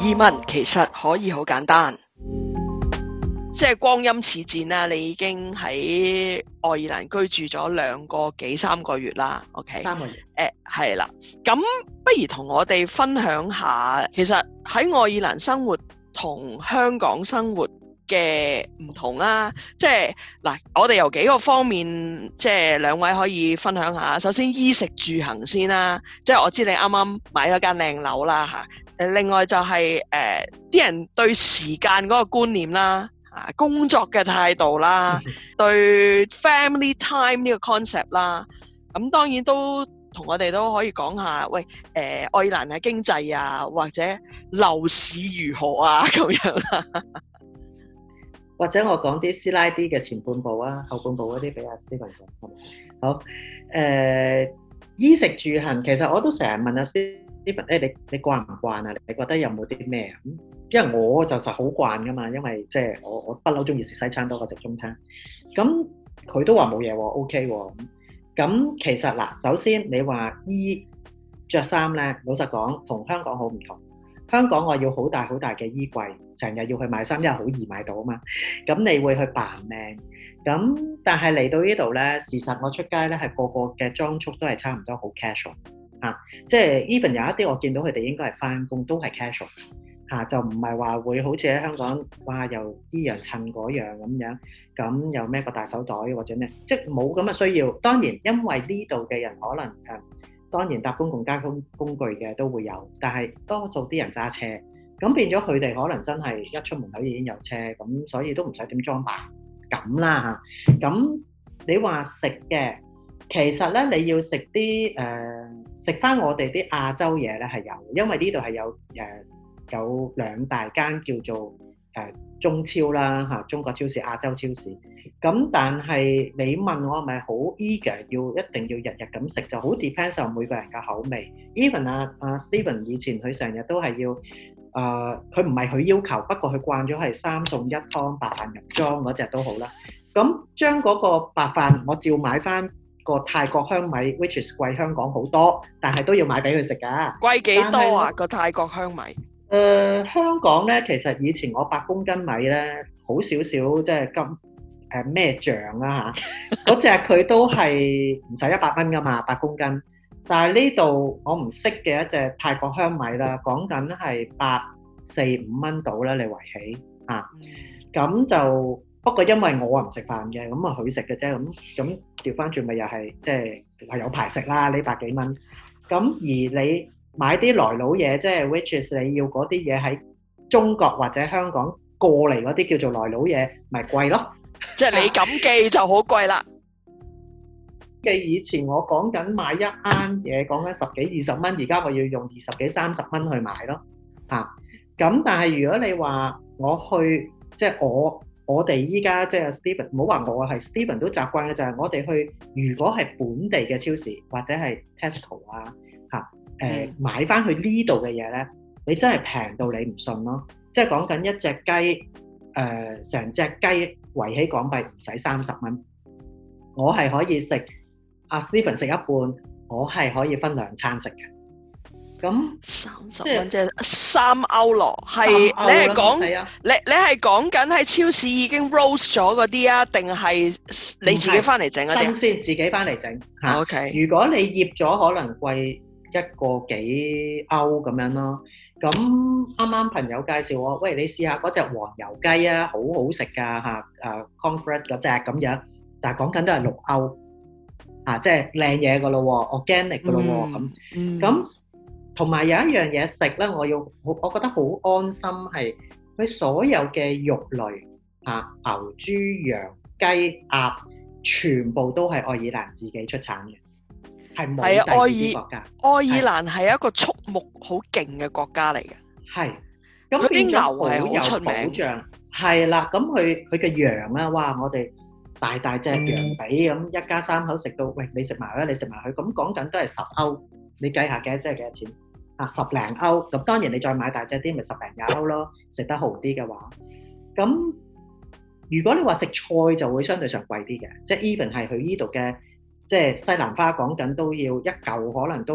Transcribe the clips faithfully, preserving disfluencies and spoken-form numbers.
移民其實可以好簡單，即係光陰似箭啦，你已經喺愛爾蘭居住咗兩個幾三個月啦 ，OK？ 三個月。 誒係啦，咁不如同我哋分享下，其實喺愛爾蘭生活同香港生活嘅唔同啦，即係嗱，我哋由幾個方面，即係兩位可以分享下。首先衣食住行先啦，即係我知你啱啱買咗間靚樓啦嚇。誒，另外就係誒啲人對時間嗰個觀念啦，嚇工作嘅態度啦，對 family time 呢個 concept 啦，咁當然都同我哋都可以講下，喂誒、呃、愛爾蘭嘅經濟啊，或者樓市如何啊咁樣啦。 或者我講啲師奶啲嘅前半部啊，後半部嗰啲俾阿 Stephen 講。好，誒、呃、衣食住行，其實我都成日問阿 Stephen，誒你你慣唔慣啊？你覺得有冇啲咩啊？因為我就實好慣噶嘛，因為即係我我不嬲中意食西餐多過食中餐。咁佢都話冇嘢喎 ，OK 喎。咁其實嗱，首先你話衣着衫咧，老實講同香港好唔同。香港我要好大好大嘅衣櫃，成日要去買衫，因為好易買到啊嘛。咁你會去扮靚，咁但係嚟到呢度咧，事實我出街咧係個個嘅裝束都係差唔多好 casual 嚇、啊，即係 even 有一啲我見到佢哋應該係返工都係 casual 嚇、啊，就唔係話會好似喺香港哇又依樣襯嗰樣咁樣，咁又孭個大手袋或者咩，即係冇咁嘅需要。當然因為呢度嘅人可能誒。當然搭公共交通工具嘅都會有，但係多數啲人揸車，咁變咗佢哋可能真係一出門口已經有車，咁所以都唔使點裝扮咁啦嚇。咁你話食嘅，其實咧你要食啲誒食翻我哋啲亞洲嘢咧係有，因為呢度係有誒、呃、有兩大間叫做誒、呃、中超啦嚇，中國超市、亞洲超市。咁但係你問我係咪好 eager 要一定要日日咁食，就好 depends on 每個人嘅口味。Even 啊啊 Stephen 以前佢成日都係要誒，佢唔係佢要求，不過佢慣咗係三餸一湯白飯入裝嗰隻都好啦。咁將嗰個白飯我照買翻個泰國香米 ，which is 貴香港好多，但係都要買俾佢食㗎。 貴幾多啊？個泰國香米？誒、 呃、香港咧，其實以前我八公斤米咧，好少少即係金。誒咩醬啦嚇，嗰隻佢都係唔使一百蚊噶嘛，八公斤。但係呢度我唔識嘅一隻泰國香米啦，講緊係八四五蚊到啦，你圍起嚇。咁就不過因為我啊唔食飯嘅，咁啊佢食嘅啫。咁咁調翻轉咪又係即係係有排食啦呢百幾蚊。咁而你買啲來佬嘢，即係 which is 你要嗰啲嘢喺中國或者香港過嚟嗰啲叫做來佬嘢，咪貴咯。 即係你咁記就好貴啦。 記以前我講緊買一啱嘢，講緊十幾二十蚊，而家我要用二十幾三十蚊去買咯。嚇、啊，咁但係如果你話我去，即係我我哋依家即係 Stephen，唔好話我係 Stephen 都習慣嘅就係我哋去，如果係本地嘅超市或者係 Tesco 啊嚇，誒、呃嗯、買翻去呢度嘅嘢咧，你真係平到你唔信咯。即係講緊一隻雞。誒成隻雞圍起港幣唔使三十蚊，我係可以食阿 Stephen 食一半，我係可以分兩餐食嘅。咁三十蚊即係三歐羅，係你係講你你係講緊喺超市已經 roast 咗嗰啲啊，定係你自己翻嚟整嗰啲？ 新鮮自己翻嚟整嚇。 OK， 如果你醃咗，可能貴一個幾歐咁樣咯。咁啱啱朋友介紹我，喂，你試下嗰隻黃油雞啊，好好食㗎嚇，誒 Comfort 嗰隻咁樣，但係講緊都係六歐，啊，即係靚嘢㗎咯喎 ，organic 㗎咯喎，咁，咁同埋有一樣嘢食咧，我要我我覺得好安心係，佢所有嘅肉類啊，牛、豬、羊、雞、鴨，全部都係愛爾蘭自己出產嘅。係冇第二啲國家。 愛爾蘭係一個畜牧好勁嘅國家嚟嘅。係， 咁啲牛係好出名。 係啦，咁佢佢嘅羊啦，哇！我哋大大隻羊髀咁，一家三口食到，喂，你食埋啦，你食埋佢，咁講緊都係十歐，你計下嘅，即係幾多錢？啊，十零歐。咁當然你再買大隻啲，咪十零廿歐咯。食得好啲嘅話，咁如果你話食菜就會相對上貴啲嘅，即係 even 係佢呢度嘅。即係西蘭花講緊都要一嚿，可能都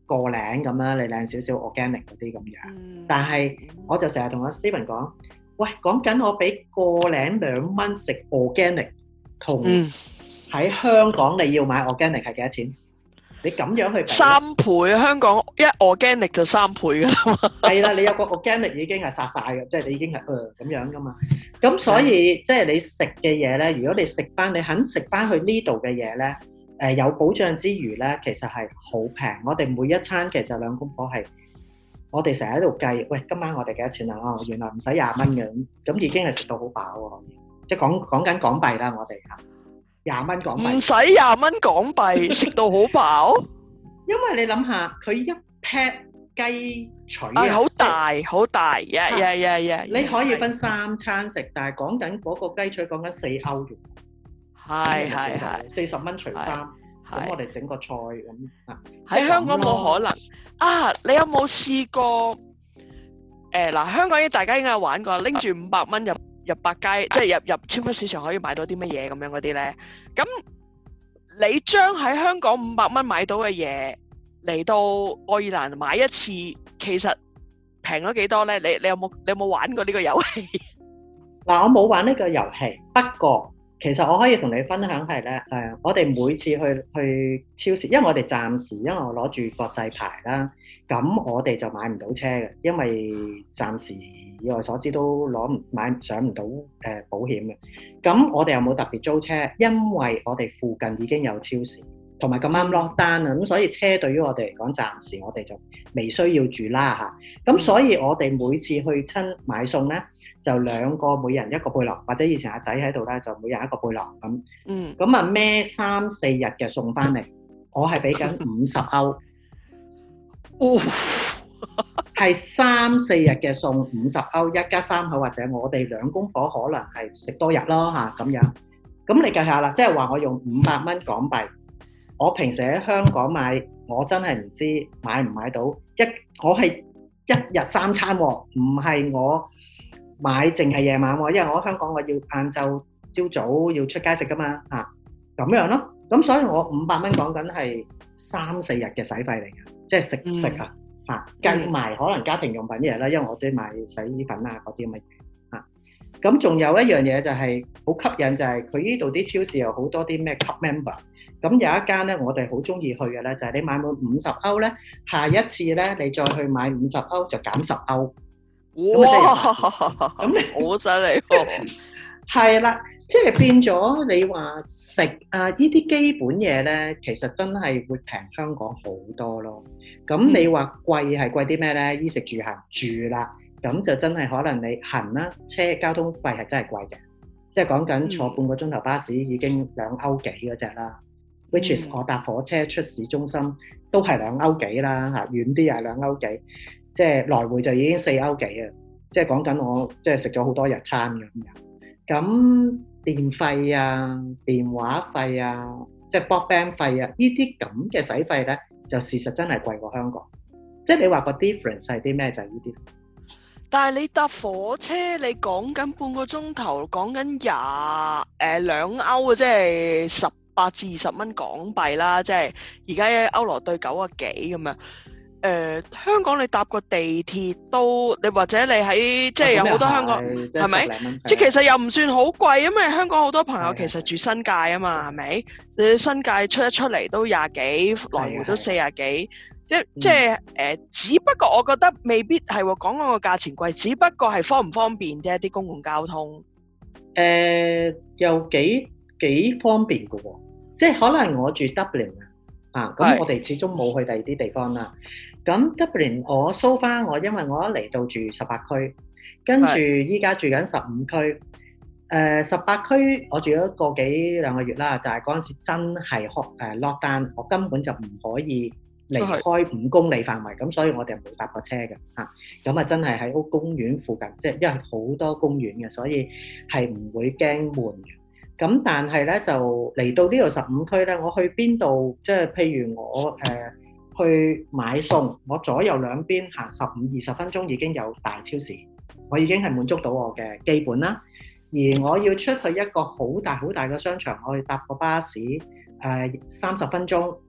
個零咁啦，你靚少少 organic 嗰啲咁樣。 嗯但係我就成日同阿 Stephen 講，喂，講緊我俾個零兩蚊食 organic，同嗯喺香港你要買 organic 係幾多錢？你咁樣去比三倍，香港一 organic 就三倍㗎啦嘛。 係啦，你有個 organic 已經係殺晒嘅，即係你已經係誒咁樣噶嘛。咁所以即係你食嘅嘢咧，如果你食翻，你肯食翻去呢度嘅嘢咧，誒有保障之餘咧，其實係好平。我哋每一餐其實兩公婆係，我哋成日喺度計，喂，今晚我哋幾多錢啊？哦，原來唔使廿蚊嘅，咁咁已經係食到好飽喎。即係講講緊港幣啦，我哋嚇廿蚊港幣。 唔使廿蚊港幣食到好飽， 因為你諗下，佢一 pat 雞腿係好啊， 大好大，呀呀呀呀！ 你可以分三餐食，但係講緊嗰個雞腿講緊四歐元， 係係係四十蚊除三，咁我係哋整個菜咁啊。 喺香港冇可能啊！你有冇試過？誒嗱，香港大家應該有玩過，拎住五百蚊入入百佳，即係入入超級市場可以買到啲乜嘢咁樣嗰啲咧？咁你將喺香港五百蚊買到嘅嘢嚟到愛爾蘭買一次，其實平咗幾多咧？你你有冇你有冇玩過呢個遊戲？ 嗱，我冇玩呢個遊戲，不過其實我可以同你分享係咧，誒，我哋每次去去超市，因為我哋暫時因為我攞住國際牌啦，咁我哋就買唔到車嘅，因為暫時以我所知都攞唔買上唔到誒保險嘅。咁我哋又冇特別租車，因為我哋附近已經有超市，同埋咁啱 lock down啊，咁所以車對於我哋嚟講，暫時我哋就未需要住啦嚇。咁所以我哋每次去親買餸咧，就兩個每人一個背囊，或者以前阿仔喺度咧，就每人一個背囊咁。 嗯， 咁啊孭三四日嘅餸翻嚟，我係俾緊五十歐， 哦， 係三四日嘅餸五十歐，一家三口或者我哋兩公婆可能係食多日咯嚇咁樣。咁你計下啦，即係話我用五百蚊港幣，我平時喺香港買，我真係唔知買唔買到一，我係一日三餐喎，唔係我買淨係夜晚喎，因為我喺香港我要晏晝朝早要出街食噶嘛嚇，咁樣咯。咁所以我五百蚊講緊係三四日嘅使費嚟嘅，即係食食啊嚇，計埋可能家庭用品嘢啦，因為我都買洗衣粉啊嗰啲咁嘅嘢嚇。咁仲有一樣嘢就係好吸引，就係佢呢度啲超市有好多啲咩 club member。咁有一間咧，我哋好中意去嘅咧，就係你買滿五十歐咧，下一次咧你再去買五十歐就減十歐。 哇！咁你好犀利喎！ 係啦，即係變咗你話食啊呢啲基本嘢咧，其實真係會平香港好多咯。咁你話貴係貴啲咩咧？衣食住行住啦，咁就真係可能你行啦，車交通費係真係貴嘅，即係講緊坐半個鐘頭巴士已經兩歐幾嗰隻啦。which is 我搭火車出市中心都係兩歐幾啦嚇，遠啲係兩歐幾。即係來回就已經四歐幾啊！即係講緊我即係食咗好多日餐咁樣。咁電費啊、電話費啊、即係 broadband 費啊，呢啲咁嘅使費咧，就事實真係貴過香港。即係你話個 difference 係啲咩？就係呢啲。 但係你搭火車，你講緊半個鐘頭，講緊廿誒兩歐啊，即係十八至二十蚊港幣啦，即係而家歐羅對九啊幾咁樣。誒、呃、香港你搭個地鐵都，你或者你喺即係有好多香港係咪？即係其實又唔算好貴，因為香港好多朋友其實住新界啊嘛，係咪？你新界出一出嚟都廿幾，來回都四廿幾，即即係誒，只不過我覺得未必係喎，講嗰個價錢貴，只不過係方唔方便啫，啲公共交通。 誒、呃，又幾幾方便嘅喎，即係可能我住 Dublin 啊，咁我哋始終冇去第二啲地方啦。咁 Dublin 我 so far 我因為我一嚟到住十八區，跟住依家住緊十五區。誒十八區我住咗個幾兩個月啦，但係嗰陣時真係 lock down，我根本就唔可以離開五公里範圍，咁所以我哋冇搭過車嘅嚇。咁啊真係喺屋公園附近，即係因為好多公園嘅，所以係唔會驚悶嘅。咁但係咧就嚟到呢度十五區咧，我去邊度？即係譬如我誒、呃、去買餸，我左右兩邊行十五二十分鐘已經有大超市，我已經係滿足到我嘅基本啦。而我要出去一個好大好大嘅商場，我去搭個巴士誒三十分鐘，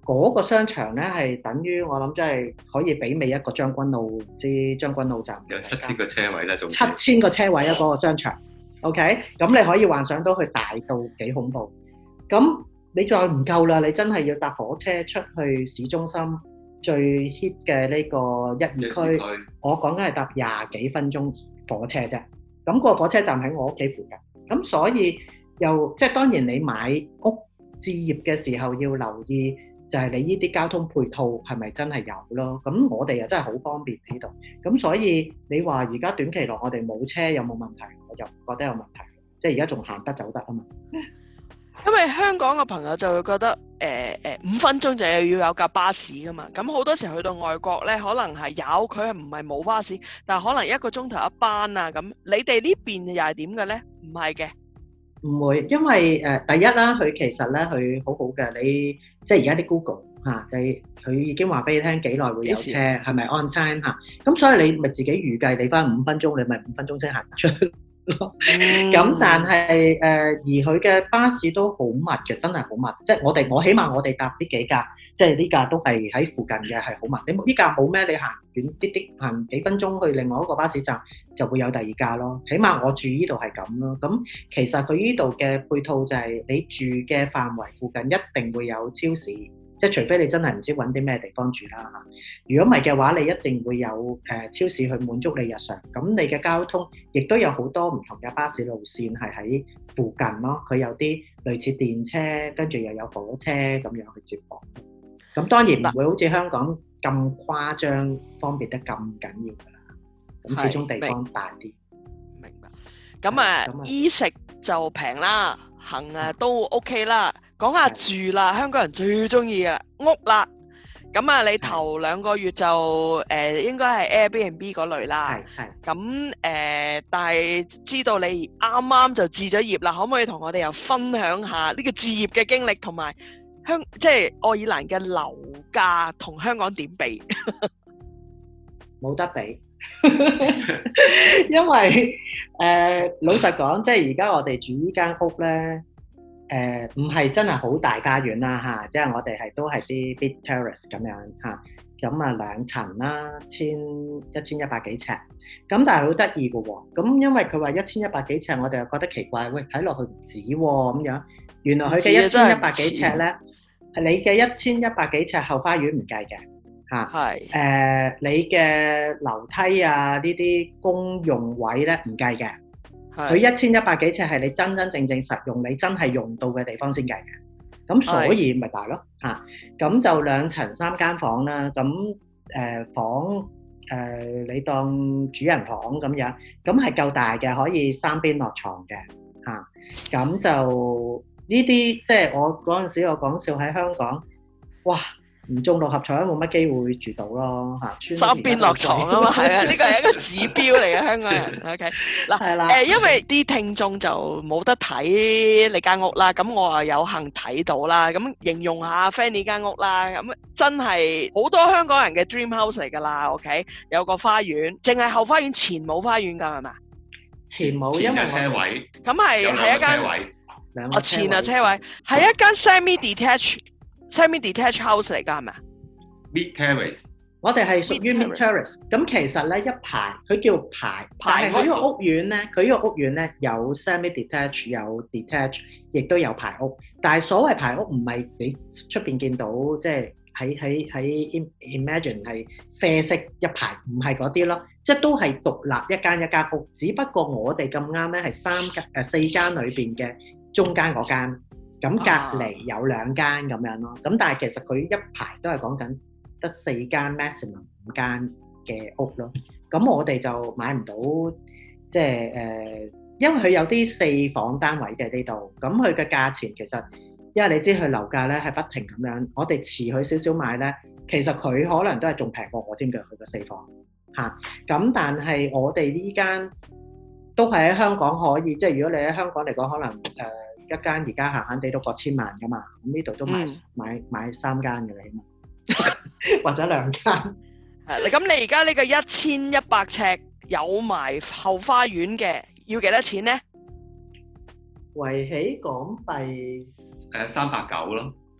嗰個商場咧係等於我諗，即係可以媲美一個將軍澳，唔知將軍澳站有七千個車位咧，仲七千個車位啊！嗰個商場，OK，咁你可以幻想到佢大到幾恐怖。咁你再唔夠啦，你真係要搭火車出去市中心最 hit 嘅呢個一二區，我講緊係搭廿幾分鐘火車啫。咁個火車站喺我屋企附近，咁所以又即係當然你買屋置業嘅時候要留意，就係你呢啲交通配套係咪真係有咯？咁我哋又真係好方便呢度，咁所以你話而家短期內我哋冇車有冇問題？我就唔覺得有問題，即係而家仲行得走得啊嘛。 因為香港嘅朋友就會覺得誒誒五分鐘就要有架巴士噶嘛，咁好多時去到外國咧，可能係有，佢係唔係冇巴士，但係可能一個鐘頭一班啊咁。你哋呢邊又係點嘅咧？唔係嘅。 唔會，因為誒、呃、第一啦，佢其實咧佢好好嘅，你即係而家啲 Google 嚇、啊，就係佢已經話俾你聽幾耐會有車，係咪 on time 嚇、啊？咁所以你咪自己預計你翻五分鐘，你咪五分鐘先行出咯。咁、嗯、但係誒、呃，而佢嘅巴士都好密嘅，真係好密。即係我哋我起碼我哋搭呢幾架，即係呢架都係喺附近嘅，係好密。你呢架冇咩？你行遠啲啲，行幾分鐘去另外一個巴士站就會有第二架咯。起碼我住呢度係咁咯。咁其實佢呢度嘅配套就係你住嘅範圍附近一定會有超市。即係除非你真係唔知揾啲咩地方住啦嚇，如果唔係嘅話，你一定會有誒、呃、超市去滿足你日常。咁你嘅交通亦都有好多唔同嘅巴士路線係喺附近咯。佢有啲類似電車，跟住又有火車咁樣去接駁。咁當然唔會好似香港咁誇張，方便得咁緊要㗎啦。咁始終地方大啲。 明白。咁啊，衣食就平啦，行啊都 OK 啦。講下住啦，香港人最中意嘅屋啦。咁啊，你頭兩個月就誒、呃、應該係 Airbnb 嗰類啦。係。咁誒、呃，但係知道你啱啱就置咗業啦，可唔可以同我哋又分享下呢個置業嘅經歷，同埋香即係愛爾蘭嘅樓價同香港點比？ 冇得比，因為誒、呃、老實講，即係而家我哋住呢間屋咧。誒唔係真係好大家園啦嚇，即係我哋係都係啲 big terrace 咁樣嚇，咁啊兩層啦，千一千一百幾尺，咁但係好得意嘅喎，咁因為佢話一千一百幾尺，我哋又覺得奇怪，喂睇落去唔止喎咁樣，原來佢嘅一千一百幾尺咧，係你嘅一千一百幾尺後花園唔計嘅嚇，係誒你嘅樓梯啊呢啲公用位咧唔計嘅。佢一千一百幾尺係你真真正正實用，你真係用到嘅地方先計嘅。咁所以咪大咯嚇。咁就兩層三間房啦。咁誒、呃、房誒、呃、你當主人房咁樣，咁係夠大嘅，可以三邊落床嘅嚇。咁、啊、就呢啲即係我嗰陣時我講笑喺香港，哇！唔中六合彩都冇乜機會住到咯嚇， 三邊落床啊嘛，係啊，呢個係一個指標嚟嘅香港人。OK，嗱，係啦，誒，因為啲聽眾就冇得睇你間屋啦，咁我啊有幸睇到啦，咁形容下 Fanny 間屋啦，咁真係好多香港人嘅 dream house 嚟㗎啦。OK，有個花園，淨係後花園前冇花園㗎係嘛？ 前冇，因為車位， 咁係係一間，哦前啊車位，係一間 semi detached。semi detached house 嚟㗎係咪啊 ？Mid terrace， 我哋係屬於 mid terrace。咁其實咧一排，佢叫排，但係佢呢個屋苑咧，佢呢個屋苑咧有 semi detached 有 detached，亦都有排屋。但係所謂排屋唔係你出邊見到，即係喺喺喺 imagine 係啡色一排，唔係嗰啲咯，即係都係獨立一間一間屋。只不過我哋咁啱咧係三間誒四間裏邊嘅中間嗰間。咁隔離有兩間咁樣咯，咁但係其實佢一排都係講緊得四間 maximum 五間嘅屋咯。咁我哋就買唔到，即係誒，因為佢有啲四房單位嘅呢度，咁佢嘅價錢其實，因為你知佢樓價咧係不停咁樣，我哋遲佢少少買咧，其實佢可能都係仲平過我添嘅，佢個四房嚇。咁但係我哋呢間都係喺香港可以，即係如果你喺香港嚟講，可能誒。呃一間而家閒閒地都過千萬噶嘛，咁呢度都買、嗯、買買三間嘅起碼，或者兩間。 係，咁你而家呢個一千一百尺有埋後花園嘅，要幾多錢咧？ 圍起港幣誒三百九咯。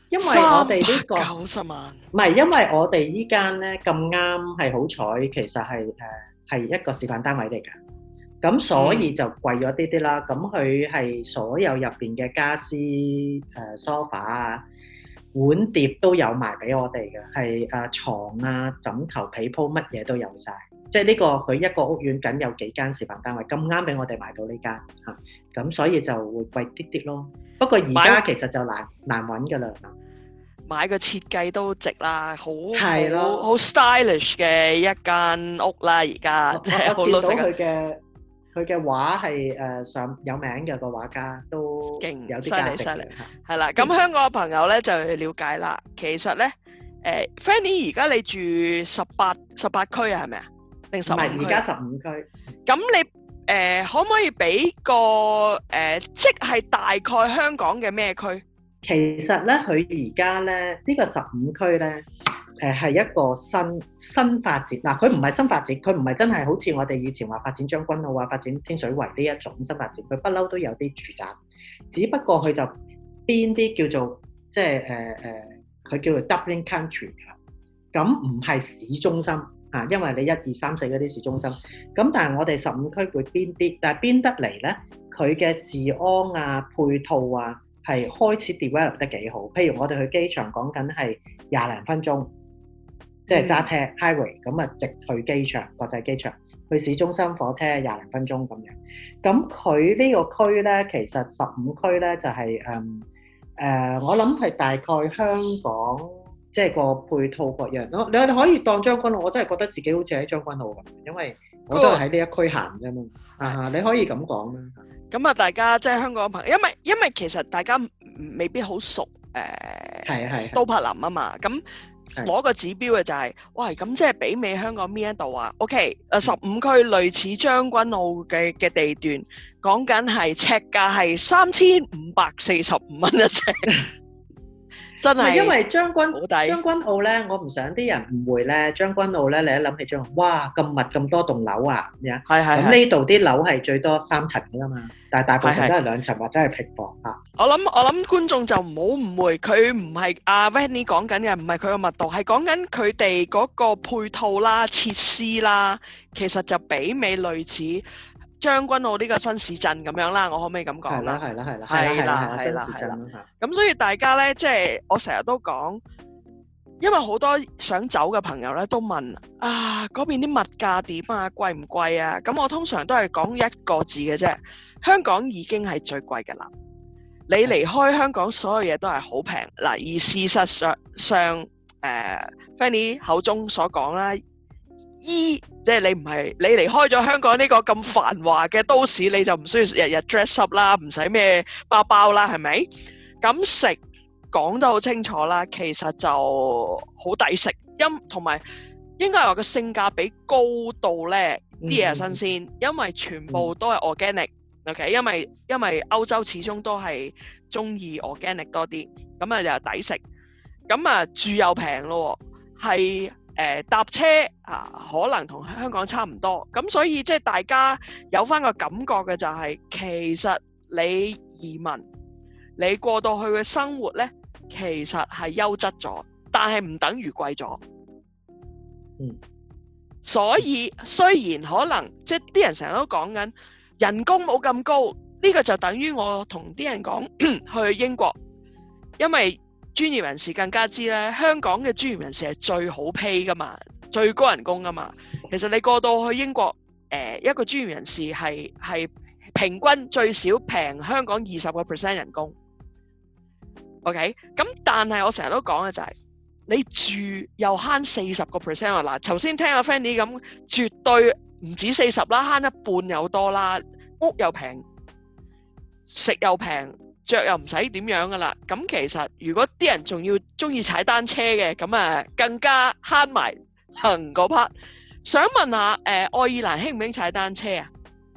因為我哋呢個九十萬， 唔係，因為我哋依間咧咁啱係好彩，其實係誒係一個示範單位嚟㗎。咁所以就貴咗啲啲啦。咁佢係所有入邊嘅家私、誒 sofa 啊、碗碟都有埋俾我哋嘅，係誒牀啊、枕頭、被鋪乜嘢都有晒。即係呢個佢一個屋苑僅有幾間示範單位，咁啱俾我哋買到呢間嚇，咁所以就會貴啲啲咯。不過而家其實就難難揾㗎啦。 買個設計都值啦，好係咯好好 stylish 嘅一間屋啦，而家我即係好我見到老實講佢嘅佢嘅畫係誒上有名嘅個畫家，都勁有啲價值犀利犀利嘅嚇。 係啦。咁香港嘅朋友咧就要了解啦。其實咧，誒 Fanny 而家你住十八十八區啊，係咪啊？定十五唔係， 區？ 而家十五區。 咁你誒可唔可以俾個誒，即係大概香港嘅咩區？ 其實咧，佢而家咧呢個十五區咧，誒係一個新新發展。嗱，佢唔係新發展，佢唔係真係好似我哋以前話發展將軍澳啊、發展天水圍呢一種新發展。佢不嬲都有啲住宅，只不過佢就邊啲叫做即係誒誒，佢、呃、叫做 Dublin Country 咁唔係市中心啊，因為你一二三四嗰啲市中心。咁但係我哋十五區會邊啲？但係邊得嚟咧？佢嘅治安啊、配套啊，係開始 develop 得幾好。譬如我哋去機場講緊係廿零分鐘，即係揸車 highway 咁啊，直去機場國際機場，去市中心火車廿零分鐘咁樣。咁佢呢個區咧，其實十五區咧就係誒誒，我諗係大概香港即係個配套各樣咯。你你可以當將軍澳，我真係覺得自己好似喺將軍澳咁，因為我都係喺呢一區行啫嘛。啊，你可以咁講啦。 咁啊，大家即係香港嘅朋友，因為因為其實大家未必好熟誒， 係啊係都柏林啊嘛，咁攞個指標嘅就係、是，喂，咁即係媲美香港邊一度啊 ？OK，誒十五區類似將軍澳嘅嘅地段，講緊係尺價係三千五百四十五蚊一尺。真係， 因為將軍好抵將軍澳咧，我唔想啲人誤會咧。將軍澳咧，你一諗起將軍澳，哇咁密咁多棟樓啊，咁樣。 係係。 咁呢度啲樓係最多三層㗎嘛，但係大部分都係兩層或者係平房嚇。 我諗我諗觀眾就唔好誤會，佢唔係阿 Vanny 講緊嘅，唔係佢個密度，係講緊佢哋嗰個配套啦、設施啦，其實就媲美類似將軍澳呢個新市鎮咁樣啦，我可唔可以咁講啦？ 係啦，係啦， 係啦，係啦，係啦。咁所以大家咧，即係我成日都講，因為好多想走嘅朋友咧都問啊，嗰邊啲物價點啊，貴唔貴啊？咁我通常都係講一個字嘅啫，香港已經係最貴㗎啦。你離開香港，所有嘢都係好平嗱，而事實上上誒、呃、Fanny 口中所講啦。衣即係你唔係你離開咗香港呢個咁繁華嘅都市，你就唔需要日日 dress up 啦，唔使咩包包啦，係咪？咁食講得好清楚啦，其實就好抵食，因同埋應該係話個性價比高到咧，啲嘢係新鮮，因為全部都係 organic，OK，因為因為歐洲始終都係中意 organic 多啲，咁啊又抵食，咁啊住又平咯，係。誒搭車啊，可能同香港差唔多，咁所以即係大家有翻個感覺嘅就係、是，其實你移民，你過到去嘅生活呢，其實係優質咗，但係唔等於貴咗。 嗯， 所以雖然可能即係啲人成日都講緊人工冇咁高，呢、這個就等於我同啲人講去英國，因為專業人士更加知咧，香港嘅專業人士係最好 pay 噶嘛，最高人工噶嘛。其實你過到去英國，誒、呃、一個專業人士係係平均最少平香港二十個 percent 人工。OK，咁但係我成日都講嘅就係、是，你住又慳四十個 percent 啊！嗱，頭先聽阿 Fanny 咁，絕對唔止四十啦，慳一半有多啦，屋又平，食又平。着又唔使點樣噶啦，咁其實如果啲人仲要中意踩單車嘅，咁啊更加慳埋行嗰 part。想問下，誒、呃、愛爾蘭興唔興踩單車啊？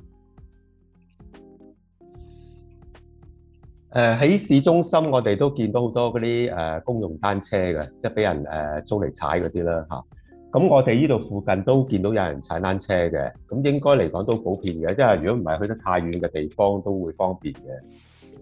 誒喺市中心，我哋都見到好多嗰啲誒公用單車嘅，即係俾人誒租嚟踩嗰啲啦嚇。咁我哋呢度附近都見到有人踩單車嘅，咁應該嚟講都普遍嘅，即係如果唔係去得太遠嘅地方，都會方便嘅。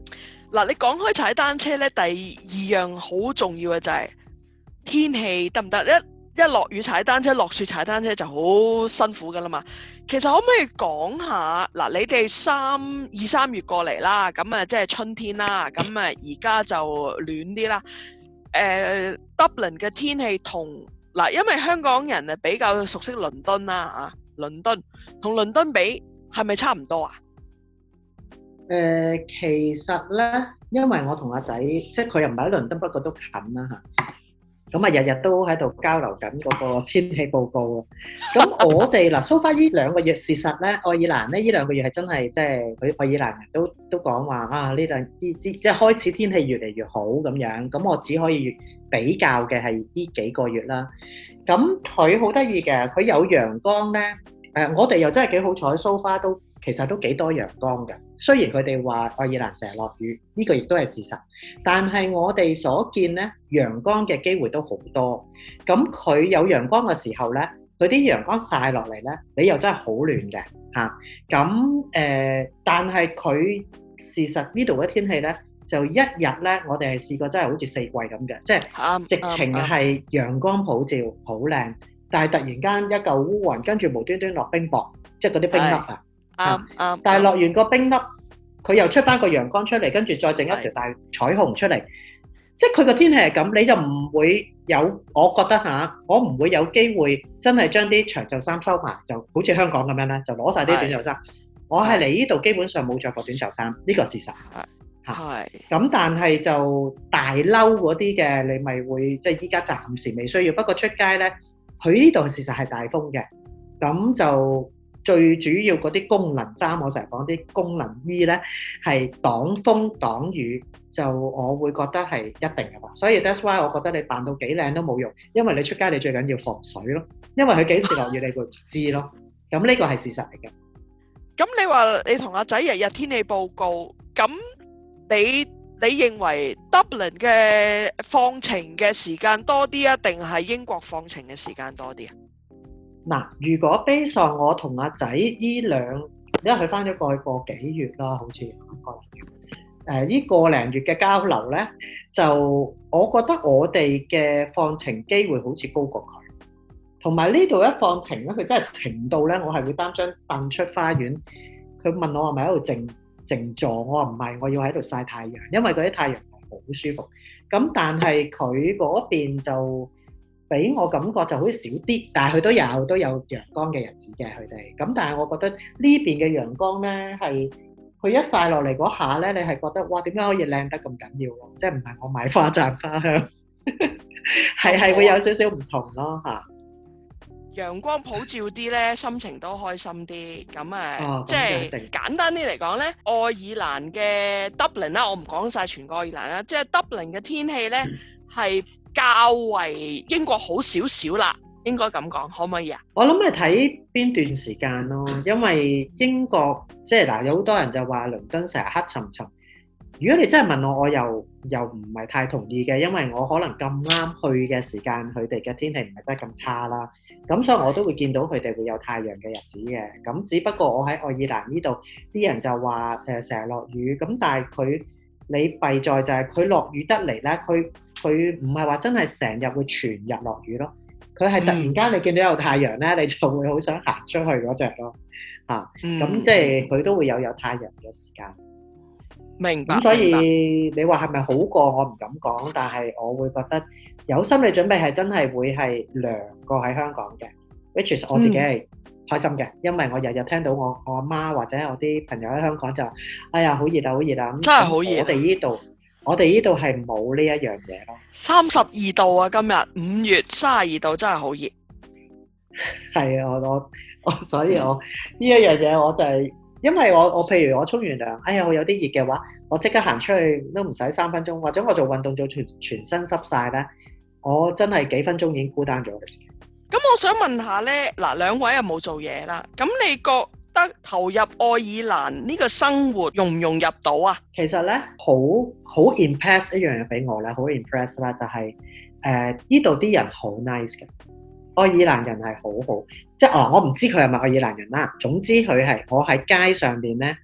嗱，你講開踩單車咧，第二樣好重要嘅就係天氣得唔得？一一落雨踩單車，落雪踩單車就好辛苦噶啦嘛。其實可唔可以講下嗱？你哋三二三月過嚟啦，咁啊即係春天啦，咁啊而家就暖啲啦。誒 Dublin 嘅天氣同嗱，因為香港人啊比較熟悉倫敦啦嚇，倫敦同倫敦比係咪差唔多啊？ 誒，其實咧，因為我同阿仔，即係佢又唔係喺倫敦，不過都近啦嚇。咁啊，日日都喺度交流緊嗰個天氣報告啊。咁我哋嗱，so far呢兩個月，事實咧，愛爾蘭咧呢兩個月係真係即係佢愛爾蘭人都都講話啊，呢兩啲啲即係開始天氣越嚟越好咁樣。咁我只可以比較嘅係呢幾個月啦。咁佢好得意嘅，佢有陽光咧。誒，我哋又真係幾好彩 ，so far 都其實都幾多陽光嘅。雖然佢哋話愛爾蘭成日落雨，呢個亦都係事實。但係我哋所見咧，陽光嘅機會都好多。咁佢有陽光嘅時候咧，佢啲陽光曬落嚟咧，你又真係好暖嘅嚇。咁誒，但係佢事實呢度嘅天氣咧，就一日咧，我哋係試過真係好似四季咁嘅，即係直情係陽光普照，好靚。但係突然間一嚿烏雲，跟住無端端落冰雹，即係嗰啲冰粒啊！ 啱啱。 但係落完個冰粒，佢又出翻個陽光出嚟，跟住再整一條大彩虹出嚟。即係佢個天氣係咁，你就唔會有，我覺得嚇，我唔會有機會真係將啲長袖衫收埋，就好似香港咁樣咧，就攞曬啲短袖衫。我係嚟呢度基本上冇著過短袖衫，呢個事實。係。係。咁但係就大褸嗰啲嘅，你咪會即係依家暫時未需要。不過出街咧。佢呢度事實係大風嘅，咁就最主要嗰啲功能衫，我成日講啲功能衣咧，係擋風擋雨，就我會覺得係一定嘅啦。所以 that's why 我覺得你扮到幾靚都冇用，因為你出街你最緊要防水咯，因為佢幾時落雨你會唔知咯。咁呢個係事實嚟嘅。咁你話你同阿仔日日天氣報告，咁你？你認為 Dublin 嘅放晴嘅時間多啲啊，定係英國放晴嘅時間多啲啊？嗱，如果 base on 我同阿仔呢兩，因為佢翻咗過去個幾月啦，好似個零月，誒呢個零月嘅交流咧，就我覺得我哋嘅放晴機會好似高過佢，同埋呢度一放晴咧，佢真係晴到咧，我係會擔張凳出花園，佢問我係咪喺度靜靜坐，我話唔係，我要喺度曬太陽，因為嗰啲太陽係好舒服。咁但係佢嗰邊就俾我感覺就好似少啲，但係佢都有都有陽光嘅日子嘅佢哋。咁但係我覺得呢邊嘅陽光咧係佢一曬落嚟嗰下咧，你係覺得哇點解可以靚得咁緊要咯？即係唔係我買花讚花香，係係會有少少唔同咯嚇。陽光普照啲咧，心情都開心啲。咁誒，哦、即係簡單啲嚟講咧，愛爾蘭嘅 Dublin 啦，我唔講晒全個愛爾蘭啦，即係 Dublin 嘅天氣咧係較為英國好少少啦，應該咁講，可唔可以啊？我諗係睇邊段時間咯，因為英國即係嗱，有好多人就話倫敦成日黑沉沉。如果你真係問我，我又又唔係太同意嘅，因為我可能咁啱去嘅時間，佢哋嘅天氣唔係真係咁差啦。咁所以我都會見到佢哋會有太陽嘅日子嘅。咁只不過我喺愛爾蘭呢度，啲人就話誒成日落雨。咁但係佢你弊在就係佢落雨得嚟咧，佢佢唔係話真係成日會全日落雨咯。佢係突然間你見到有太陽咧，你就會好想行出去嗰隻咯。嚇，咁即係佢都會有有太陽嘅時間。明白。咁所以你話係咪好過？我唔敢講，但係我會覺得有心理準備係真係會係涼過喺香港嘅。which is 我自己係開心嘅，因為我日日聽到我我阿媽或者我啲朋友喺香港就話：哎呀，好熱啊，好熱啊！咁真係好熱。我哋呢度，我哋呢度係冇呢一樣嘢咯。三十二度啊！今日五月三十二度，真係好熱。係啊，我我我，所以我呢一樣嘢我就係。因為我我譬如我沖完涼，哎呀我有啲熱嘅話，我即刻行出去都唔使三分鐘，或者我做運動做全全身濕晒咧，我真係幾分鐘已經孤單咗嘅。咁我想問下咧，嗱兩位又冇做嘢啦，咁你覺得投入愛爾蘭呢個生活融唔融入到啊？其實咧好好 impress 一樣嘢俾我咧，好 impress 啦，就係誒呢度啲人好 nice 嘅。愛爾蘭人係好好，即係哦，我唔知佢係咪愛爾蘭人啦。總之佢係我喺街上邊咧，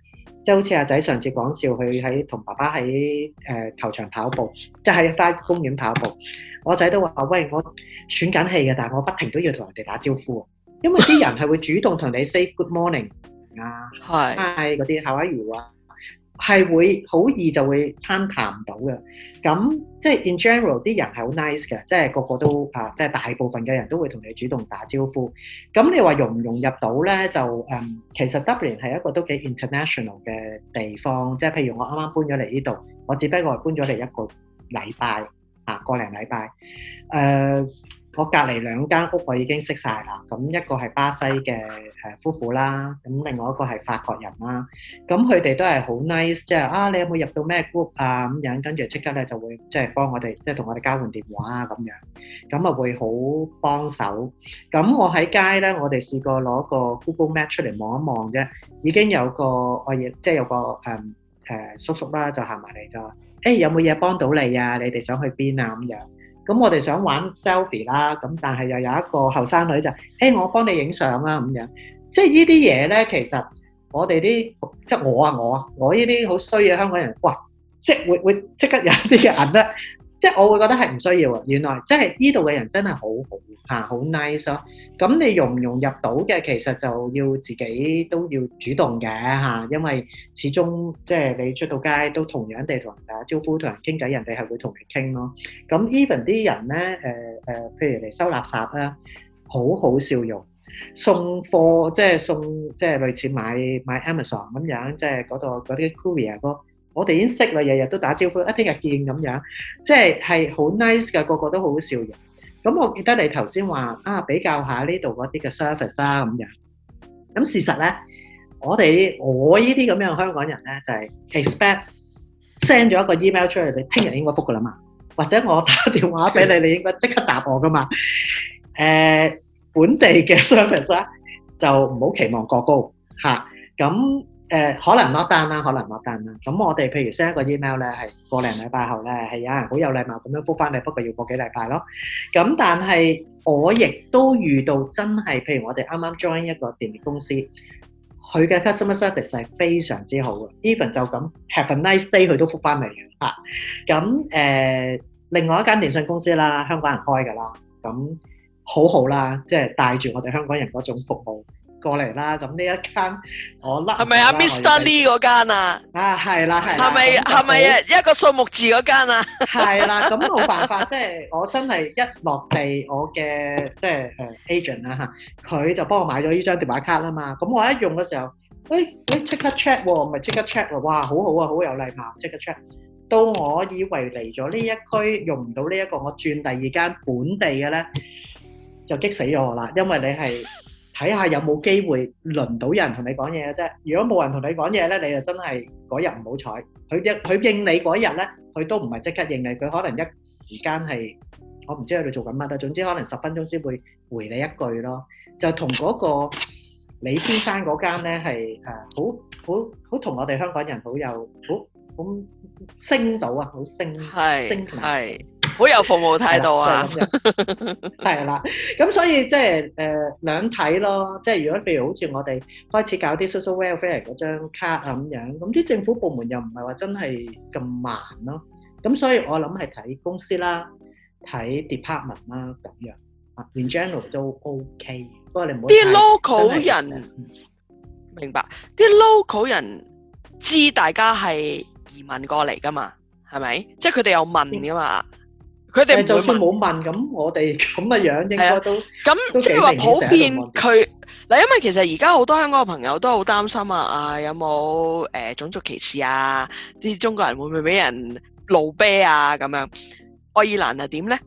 即係好似阿仔上次講笑，佢喺同爸爸喺誒、呃、球場跑步，即係喺花公園跑步。我仔都話：喂，我喘緊氣嘅，但係我不停都要同人哋打招呼，因為啲人係會主動同你 say good morning 啊， 係嗰啲 how are you 啊，係會好易就會攀談到嘅。咁即係 in general 啲人係好 nice 嘅，即係個個都啊，即係大部分嘅人都會同你主動打招呼。咁你話融唔融入到咧？就誒、嗯，其實 Dublin 係一個都幾 international 嘅地方，即係譬如我啱啱搬咗嚟呢度，我只不過係搬咗嚟一個禮拜啊，個零禮拜。誒、呃，我隔離兩間屋我已經識晒啦。咁一個係巴西嘅誒夫婦啦，咁另外一個係法國人啦。咁佢哋都係好 nice，即係啊，你有冇入到咩 group 啊咁樣，跟住即刻咧就會即係幫我哋，即係同我哋交換電話啊咁樣，咁啊會好幫手。咁我喺街咧，我哋試過攞個 Google Map 出嚟望一望啫，已經有個我亦即係有個誒誒、呃、叔叔啦，就行埋嚟就話：誒、欸、有冇嘢幫到你啊？你哋想去邊啊？咁樣。咁我哋想玩 selfie 啦，咁但係又有一個後生女就：誒、欸、我幫你影相啊咁樣。即係呢啲嘢咧，其實我哋啲即係我啊我啊，我呢啲好衰嘅香港人，哇！即係會會即刻有啲嘅人咧，即係我會覺得係唔需要啊。原來即係呢度嘅人真係好好嚇，好 nice 咯。咁你融唔融入到嘅，其實就要自己都要主動嘅嚇，因為始終即係你出到街都同樣地同人打招呼，同人傾偈，人哋係會同你傾咯。咁 even 啲人咧，誒誒，譬如嚟收垃圾啦，好好笑容。送貨即係送即係類似買買 Amazon 咁樣，即係嗰度嗰啲 courier 哥，我哋已經識啦，日日都打招呼，一聽日見咁樣，即係係好 nice 嘅，個個都好好笑容。咁我記得你頭先話啊，比較下呢度嗰啲嘅 service 啦咁樣。咁事實咧，我哋我呢啲咁樣嘅香港人咧，就係 expect send 咗一個 email 出去，你聽日應該覆噶啦嘛，或者我打電話俾你，你應該即刻答我噶嘛，誒。本地嘅 service 啦，就唔好期望過高嚇。咁誒、呃、可能落單啦，可能落單啦。咁我哋譬如 send 一個 email 咧，係個零禮拜後咧，係有人好有禮貌咁樣覆翻你，不過要過幾禮拜咯。咁但係我亦都遇到真係，譬如我哋啱啱 join 一個電力公司，佢嘅 customer service 係非常之好嘅。even 就咁 have a nice day，佢都覆翻嚟嘅嚇。咁誒、呃，另外一間電信公司啦，香港人開㗎啦，咁。好好啦，即係帶住我哋香港人嗰種服務過嚟啦。咁呢一間我甩係咪啊 Mister Lee 嗰間啊？ 啊係啦係啦。係咪係咪啊一個數目字嗰間啊？ 係啦，咁冇辦法，即係我真係一落地，我嘅即係誒 agent 啦嚇，佢就幫我買咗呢張電話卡啦嘛。咁我一用嘅時候，誒誒即刻 check 喎，咪即刻 check 喎，哇好好啊，好有禮貌，即刻 check。到我以為嚟咗呢一區用唔到呢一個，我轉第二間本地嘅咧。就激死咗我啦，因為你係睇下有冇機會輪到有人同你講嘢嘅啫。如果冇人同你講嘢咧，你就真係嗰日唔好彩。佢應佢應你嗰日咧，佢都唔係即刻應你，佢可能一時間係我唔知喺度做緊乜啦。總之可能十分鐘先會回你一句咯。就同嗰個李先生嗰間咧係誒好好好同我哋香港人好有好好升到啊，好升升同埋。 好有服務態度啊！ 係啦，咁所以即係誒兩睇咯。即係如果譬如好似我哋開始搞啲 social welfare 嗰張卡啊咁樣，咁啲政府部門又唔係話真係咁慢咯。咁所以我諗係睇公司啦，睇 department 啦咁樣。啊 in general 都 OK，不過你唔好啲 local 人明白，啲 local 人知大家係移民過嚟㗎嘛，係咪？即係佢哋有問㗎嘛。佢哋就算冇問，咁我哋咁嘅樣應該都咁即係話普遍佢嗱，因為其實而家好多香港嘅朋友都好擔心啊，啊有冇誒、呃、種族歧視啊？啲中國人會唔會俾人路啤啊？咁樣愛爾蘭係點咧？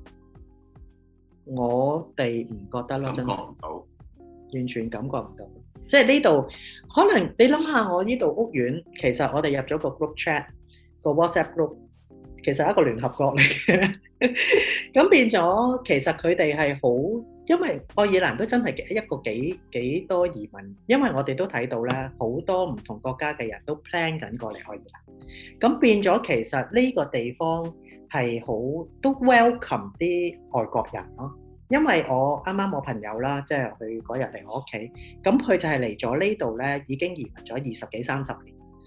我哋唔覺得咯， 真係感覺唔到， 完全感覺唔到。即係呢度可能你諗下，我呢度屋苑其實我哋入咗個 group chat 個 WhatsApp group。其實係一個聯合國嚟嘅，咁變咗其實佢哋係好，因為愛爾蘭都真係一個幾幾多移民，因為我哋都睇到咧，好多唔同國家嘅人都 plan 緊過嚟愛爾蘭，咁變咗其實呢個地方係好都 welcome 啲外國人咯，因為我啱啱我朋友啦，即係佢嗰日嚟我屋企，咁佢就係嚟咗呢度咧，已經移民咗二十幾三十年。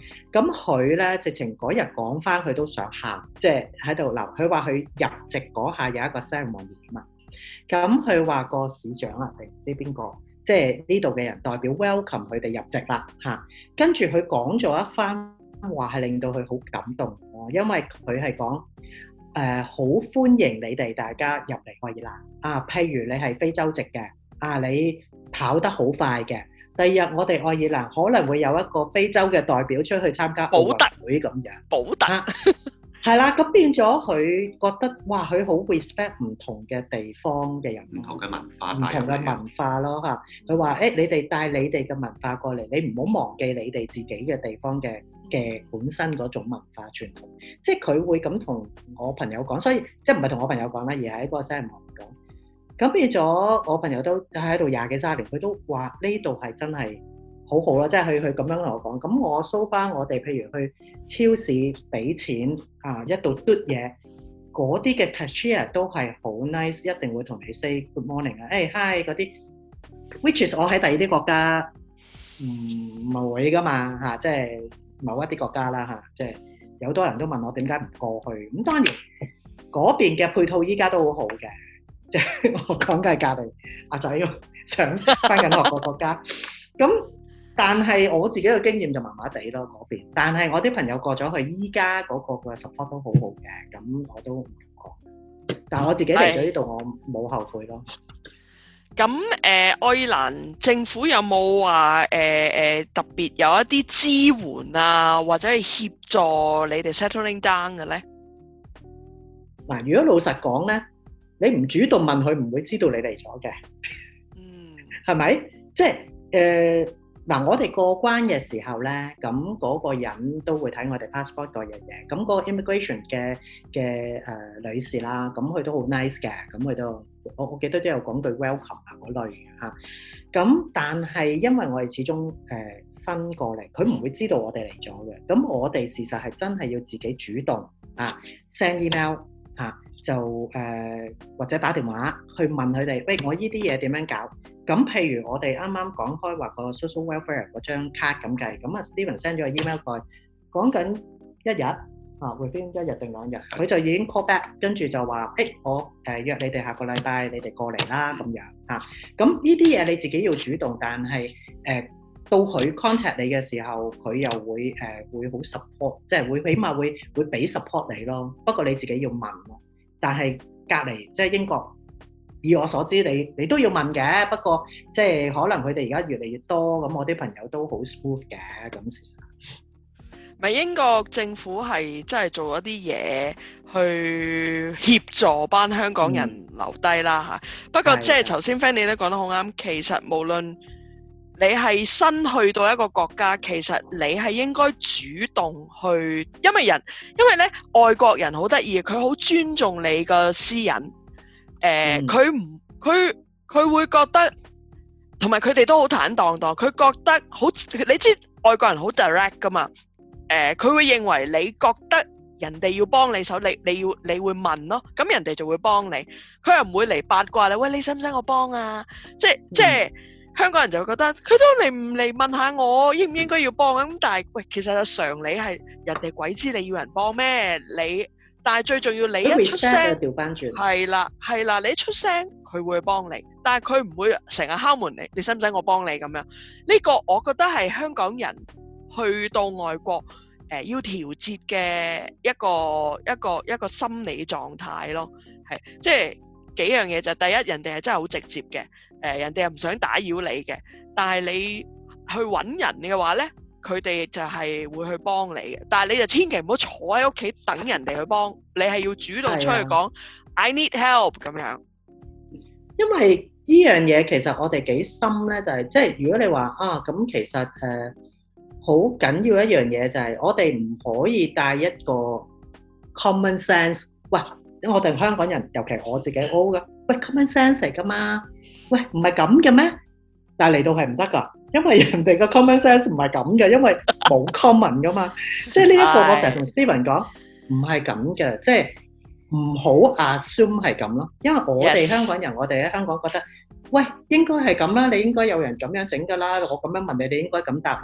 咁佢咧直情嗰日講翻，佢都想喊，即係喺度鬧。佢話佢入籍嗰下有一個 ceremony 啊嘛。咁佢話個市長啊定唔知邊個，即係呢度嘅人代表 welcome 佢哋入籍啦嚇。跟住佢講咗一番話，係令到佢好感動咯，因為佢係講誒好歡迎你哋大家入嚟愛爾蘭啊。譬如你係非洲籍嘅啊，你跑得好快嘅。第二日我哋愛爾蘭可能會有一個非洲嘅代表出去參加奧運會咁樣， 保特係啦，咁變咗佢覺得哇，佢好 respect 唔同嘅地方嘅人， 唔同嘅文化， 唔同嘅文化咯嚇。佢話誒，你哋帶你哋嘅文化過嚟，你唔好忘記你哋自己嘅地方嘅嘅本身嗰種文化傳統。即係佢會咁同我朋友講，所以即係唔係同我朋友講啦，而係喺嗰個 ceremony講。咁變咗，我朋友都喺度廿幾三年，佢都話呢度係真係好好啦，即係佢佢咁樣同我講。咁我 so far，我哋譬如去超市俾錢啊，一度嘟嘢，嗰啲嘅 cashier 都係好 nice，一定會同你 say good morning 啊，誒 hi 嗰啲 ，which is 我喺第二啲國家唔唔會噶嘛嚇，即係某一啲國家啦嚇，即係有好多人都問我點解唔過去。咁當然嗰邊嘅配套依家都好好嘅。即係我講嘅係隔離阿仔想翻緊學個國家，咁但係我自己嘅經驗就麻麻地咯嗰邊。但係我啲朋友過咗去，依家嗰個嘅 support 都好好嘅，咁我都唔敢講。但係我自己嚟咗呢度，我冇後悔咯。 咁誒，愛爾蘭政府有冇話誒誒特別有一啲支援啊，或者係協助你哋 settling down 嘅咧？ 嗱，如果老實講咧，你唔主動問佢，唔會知道你嚟咗嘅， 嗯， 係咪？即係誒嗱，我哋過關嘅時候咧，咁嗰個人都會睇我哋 passport 嗰樣嘢。咁嗰個 immigration 嘅嘅誒女士啦，咁佢都好 nice 嘅，咁佢都我我記得都有講句 welcome 啊嗰類嘅嚇。咁但係因為我哋始終誒新過嚟，佢唔會知道我哋嚟咗嘅。咁我哋事實係真係要自己主動啊 send email 嚇。就誒、呃、或者打電話去問佢哋，喂，我呢啲嘢點樣搞？咁譬如我哋啱啱講開話個 social welfare 嗰張卡咁計，咁啊 Steven send 咗個 email 過去，講緊一日啊 within 一日定兩日，佢就已經 call back，跟住就話，誒、欸、我誒、呃、約你哋下個禮拜你哋過嚟啦咁樣嚇。咁呢啲嘢你自己要主動，但係誒、呃、到佢 contact 你嘅時候，佢又會誒、呃、會好 support，即係會起碼會會俾 support 你咯。不過你自己要問咯。但係隔離即係英國，以我所知，你你都要問嘅。不過即係可能佢哋而家越嚟越多，咁我啲朋友都好 smooth 嘅。咁事實咪英國政府係真係做一啲嘢去協助班香港人留低啦嚇。嗯、不過即係頭先 Fanny 都講得好啱，其實無論你係新去到一個國家，其實你係應該主動去，因為人，因為咧外國人好得意，佢好尊重你個私隱，誒佢唔佢佢會覺得，同埋佢哋都好坦蕩蕩，佢覺得好，你知外國人好 direct 噶嘛，誒、呃、佢會認為你覺得人哋要幫你手，你你要你會問咯，咁人哋就會幫你，佢又唔會嚟八卦你，喂，你使唔使我幫啊？即係、嗯、即係。香港人就會覺得佢都嚟唔嚟問下我應唔應該要幫咁，但係喂，其實嘅常理係人哋鬼知你要人幫咩？你但係最重要你一出聲，係啦係啦，你一出聲佢會幫你，但係佢唔會成日敲門你，你使唔使我幫你咁樣？呢、這個我覺得係香港人去到外國誒、呃、要調節嘅一個一個一個心理狀態咯，係即係幾樣嘢就第一，人哋係真係好直接嘅。誒、呃、人哋又唔想打擾你嘅，但係你去揾人嘅話咧，佢哋就係會去幫你嘅。但係你就千祈唔好坐喺屋企等人哋去幫，你係要主動出去講、啊、I need help 咁樣。 因為呢樣嘢其實我哋幾深咧，就係、是、即係如果你話啊，咁其實誒好緊要一樣嘢就係我哋唔可以帶一個 common sense。喂，我哋香港人，尤其我自己 O 噶。喂 common sense 嚟噶嘛？喂，唔係咁嘅咩？但係嚟到係唔得噶，因為人哋個 common sense 唔係咁嘅，因為冇 common 噶嘛。即係呢一個我成日同 Steven 講，唔係咁嘅，即係唔好 assume 係咁咯。因為我哋香港人，我哋喺香港覺得，喂，應該係咁啦，你應該有人咁樣整噶啦，我咁樣問你，你應該咁答啦。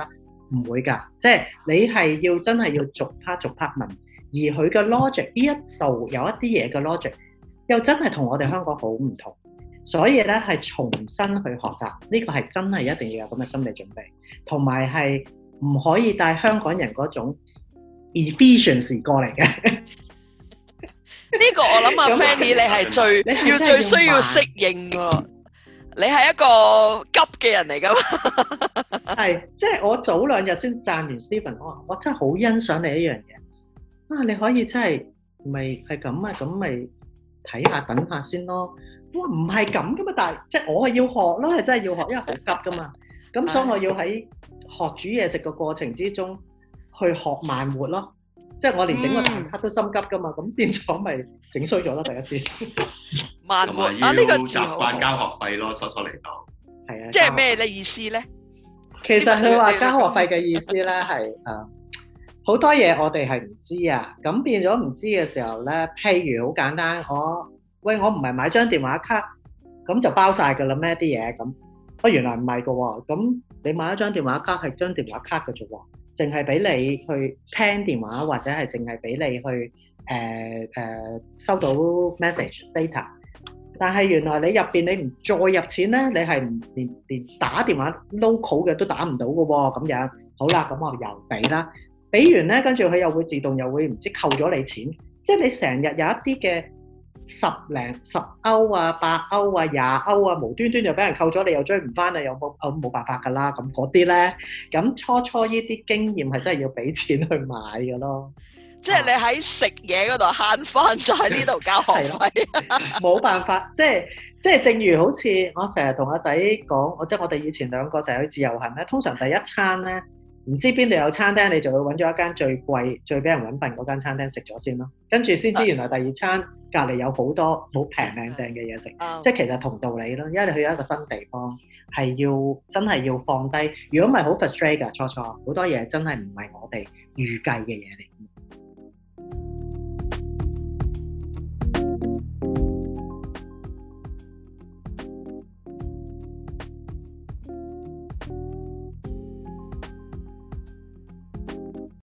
唔會㗎，即係你係要真係要逐 part 逐 part 問，而佢嘅 logic 呢一度有一啲嘢嘅 logic 又真係同我哋香港好唔同，所以咧係重新去學習，呢個係真係一定要有咁嘅心理準備，同埋係唔可以帶香港人嗰種 efficiency 過嚟嘅。 呢個我諗阿 Fanny 你係最你要最需要適應喎，你係一個急嘅人嚟㗎嘛？ 係，即係我早兩日先讚完 Stephen，我話我真係好欣賞你一樣嘢啊！你可以真係咪係咁啊？咁咪睇下等下先咯。哇，唔係咁噶嘛，但係即係我係要學咯，係真係要學，因為好急噶嘛。咁所以我要喺學煮嘢食嘅過程之中去學慢活咯。即係我連整個蛋撻都心急噶嘛，咁變咗咪整衰咗咯第一次。 慢活啊， 呢呢個字習好慣交學費咯，初初嚟到。 係啊， 即係咩咧意思咧？ 其實佢話交學費嘅意思咧係誒好多嘢我哋係唔知啊，咁變咗唔知嘅時候咧，譬如好簡單，我喂我唔係買張電話卡，咁就包晒㗎啦咩啲嘢咁？哦原來唔係㗎喎，咁你買一張電話卡係張電話卡嘅啫喎，淨係俾你去聽電話或者係淨係俾你去誒誒、呃呃、收到 message data。但係原來你入邊你唔再入錢咧，你係唔連連打電話 local 嘅都打唔到嘅喎，咁樣好啦，咁我又俾啦，俾完咧，跟住佢又會自動又會唔知扣咗你錢，即係你成日有一啲嘅十零十歐啊、八歐啊、廿歐啊，無端端就俾人扣咗，你又追唔翻啊，又冇冇冇辦法㗎啦，咁嗰啲咧，咁初初呢啲經驗係真係要俾錢去買嘅咯。 即係你喺食嘢嗰度慳翻，就喺呢度交學費。 冇辦法，即係即係，正如好似我成日同阿仔講，我即係我哋以前兩個成日去自由行咧，通常第一餐咧，唔知邊度有餐廳，你就會揾咗一間最貴、最俾人揾笨嗰間餐廳食咗先咯，跟住先知原來第二餐隔離有好多好平靚正嘅嘢食，即係其實同道理咯，因為你去一個新地方係要真係要放低，如果唔係好 frustrate 㗎，初初好多嘢真係唔係我哋預計嘅嘢嚟。